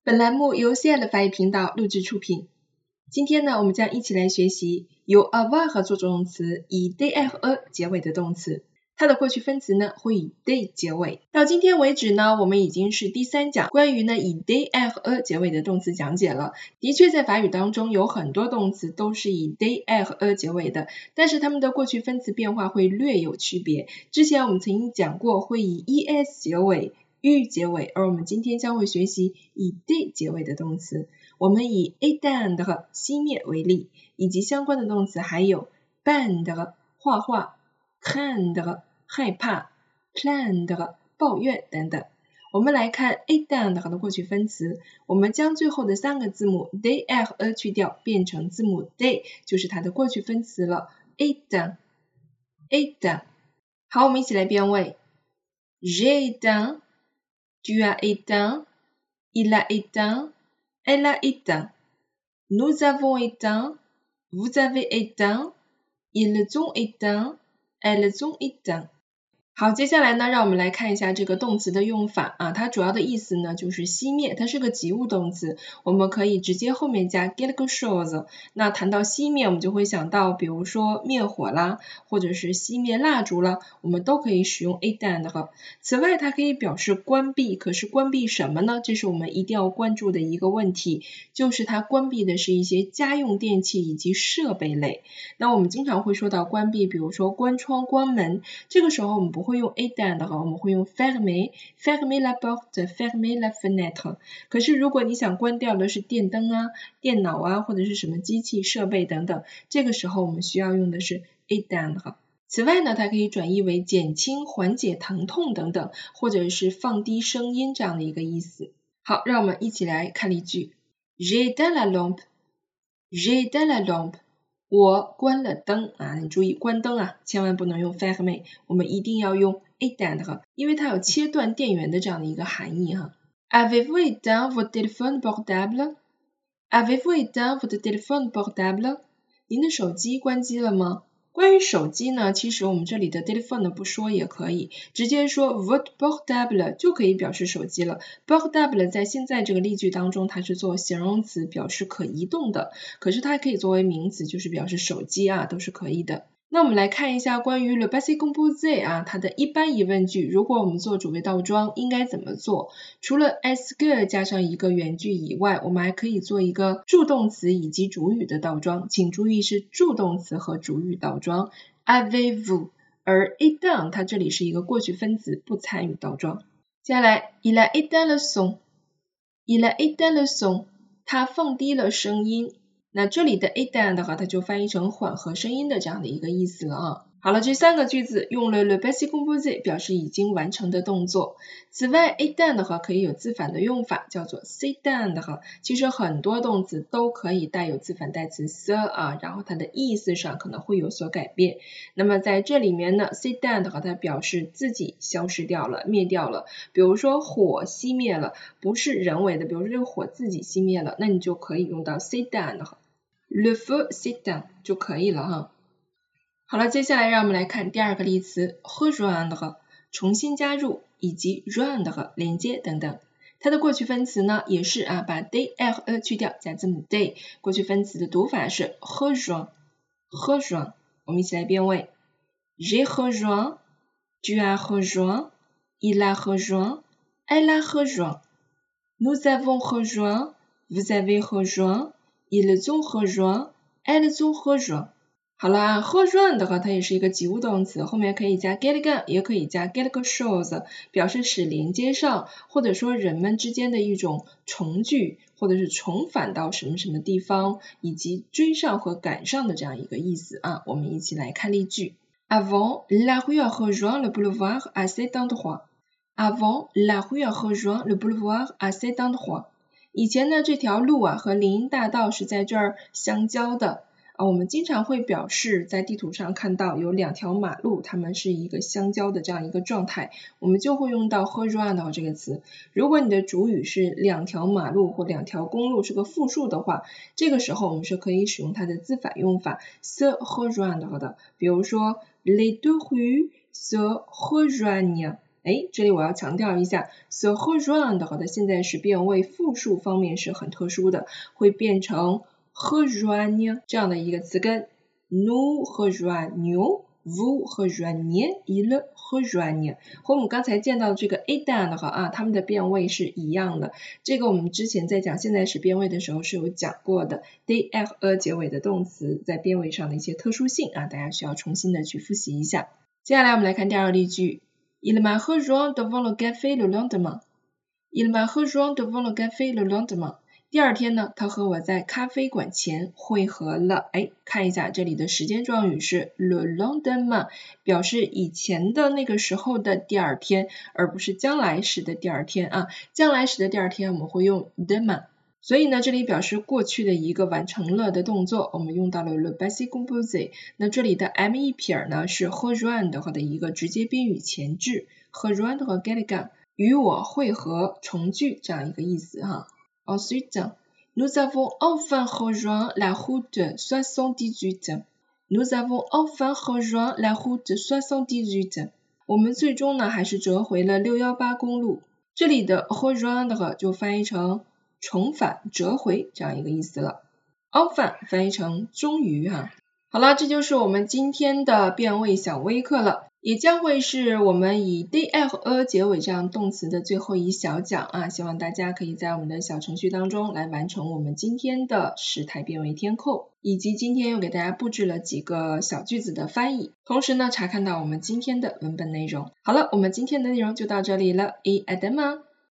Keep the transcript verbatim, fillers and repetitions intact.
本栏目由 C L 法语频道录制出品。今天呢，我们将一起来学习由 avoir 做动词以 -de 结尾的动词。它的过去分词呢会以 de 结尾。到今天为止呢，我们已经是第三讲关于呢以 de 结尾的动词讲解了。的确在法语当中有很多动词都是以 de 结尾的，但是它们的过去分词变化会略有区别。之前我们曾经讲过会以 es 结尾u 结尾，而我们今天将会学习以 de 结尾的动词。我们以 éteindre 熄灭为例，以及相关的动词还有 peindre 画画， craindre 害怕， plaindre 抱怨等等。我们来看 éteindre 的过去分词，我们将最后的三个字母 de 去掉，变成字母 de， 就是它的过去分词了。éteint éteint 好，我们一起来变位。J'ai éteint Tu as éteint, il a éteint, elle a éteint. Nous avons éteint, vous avez éteint, ils ont éteint, elles ont éteint. 好，接下来呢，让我们来看一下这个动词的用法啊，它主要的意思呢就是熄灭，它是个及物动词，我们可以直接后面加 quelque chose。那谈到熄灭，我们就会想到，比如说灭火啦，或者是熄灭蜡烛啦，我们都可以使用 éteindre。此外，它可以表示关闭，可是关闭什么呢？这是我们一定要关注的一个问题，就是它关闭的是一些家用电器以及设备类。那我们经常会说到关闭，比如说关窗、关门，这个时候我们不会用 éteindre， 我们会用 fermer fermer la porte fermer la fenêtre。 可是如果你想关掉的是电灯啊、电脑啊，或者是什么机器设备等等，这个时候我们需要用的是 éteindre。 此外呢，它可以转译为减轻、缓解疼痛等等，或者是放低声音这样的一个意思。好，让我们一起来看例句。 J'ai éteint la lampe J'ai éteint la lampe，我关了灯啊，你注意关灯啊，千万不能用 fermer， 我们一定要用 éteindre， 因为它有切断电源的这样的一个含义哈。Avez-vous éteint votre téléphone portable? Avez-vous éteint votre téléphone portable? 您的手机关机了吗？关于手机呢，其实我们这里的 téléphone 不说也可以，直接说 votre portable 就可以表示手机了。portable 在现在这个例句当中，它是做形容词，表示可移动的，可是它可以作为名词，就是表示手机啊，都是可以的。那我们来看一下关于 le passé composé 啊，它的一般疑问句，如果我们做主谓倒装应该怎么做？除了 est-ce que 加上一个原句以外，我们还可以做一个助动词以及主语的倒装，请注意是助动词和主语倒装 avez-vous， 而 éteint 它这里是一个过去分词，不参与倒装。接下来 il a éteint le son il a éteint le son， 他放低了声音。那这里的 éteint 的话，它就翻译成缓和声音的这样的一个意思了啊。好了，这三个句子用了 le passé composé 表示已经完成的动作。此外 éteint 的话可以有字反的用法，叫做 s'éteindre。其实很多动词都可以带有字反代词 se 啊，然后它的意思上可能会有所改变。那么在这里面呢 s'éteindre 它表示自己消失掉了，灭掉了。比如说火熄灭了，不是人为的，比如说这个火自己熄灭了，那你就可以用到 s'éteindre。Le feu s'éteint 就可以了哈。好了，接下来让我们来看第二个例词 rejoindre 重新加入以及 joindre 连接等等。它的过去分词呢也是啊把 de 去掉加字母 de， 过去分词的读法是 rejoint rejoint。 我们一起来变位。 J'ai rejoint Tu as rejoint Il a rejoint Elle a rejoint Nous avons rejoint Vous avez rejoint Ils ont rejoint, elles ont rejoint。 好了啊 rejoint 的话它也是一个及物动词，后面可以加 quelque 也可以加 quelque chose， 表示使连接上，或者说人们之间的一种重聚，或者是重返到什么什么地方，以及追上和赶上的这样一个意思啊。我们一起来看例句。 Avant, la rue a rejoint le boulevard à cet endroit. Avant, la rue a rejoint le boulevard à cet endroit。以前呢，这条路啊和林荫大道是在这儿相交的啊。我们经常会表示在地图上看到有两条马路，它们是一个相交的这样一个状态，我们就会用到 rejoindre 这个词。如果你的主语是两条马路或两条公路是个复数的话，这个时候我们是可以使用它的字反用法 se rejoindre 的。比如说 les deux rues se rejoignent 哎，这里我要强调一下 se rejoindre 的现在时变位复数方面是很特殊的，会变成 rejoindre 这样的一个词根 nous rejoignons vous rejoignez il rejoigne 和我们刚才见到的这个 éteindre 啊，它们的变位是一样的。这个我们之前在讲现在时变位的时候是有讲过的 -de 结尾的动词在变位上的一些特殊性啊，大家需要重新的去复习一下。接下来我们来看第二个例句 Il m'a rejoint devant le café le lendemain. Il m'a rejoint devant le café le lendemain. 第二天呢，他和我在咖啡馆前会合了。哎，看一下这里的时间状语是 le lendemain， 表示以前的那个时候的第二天，而不是将来时的第二天啊。将来时的第二天我们会用 demain。所以呢，这里表示过去的一个完成了的动作，我们用到了 le passé composé。那这里的 me 撇呢是 rejoindre 的一个直接宾语前置 ，rejoindre quelqu'un 与我会合、重聚这样一个意思哈。Ensuite, nous avons enfin rejoint la route soixante-dix-huit. Nous avons enfin rejoint la route soixante-dix-huit. 我们最终呢还是折回了六一八公路。这里的 rejoindre 就翻译成重返、折回这样一个意思了。enfin 翻译成终于哈。好了，这就是我们今天的变位小微课了，也将会是我们以 de 结尾这样动词的最后一小讲啊，希望大家可以在我们的小程序当中来完成我们今天的时态变位填空，以及今天又给大家布置了几个小句子的翻译，同时呢查看到我们今天的文本内容。好了，我们今天的内容就到这里了，et à demain。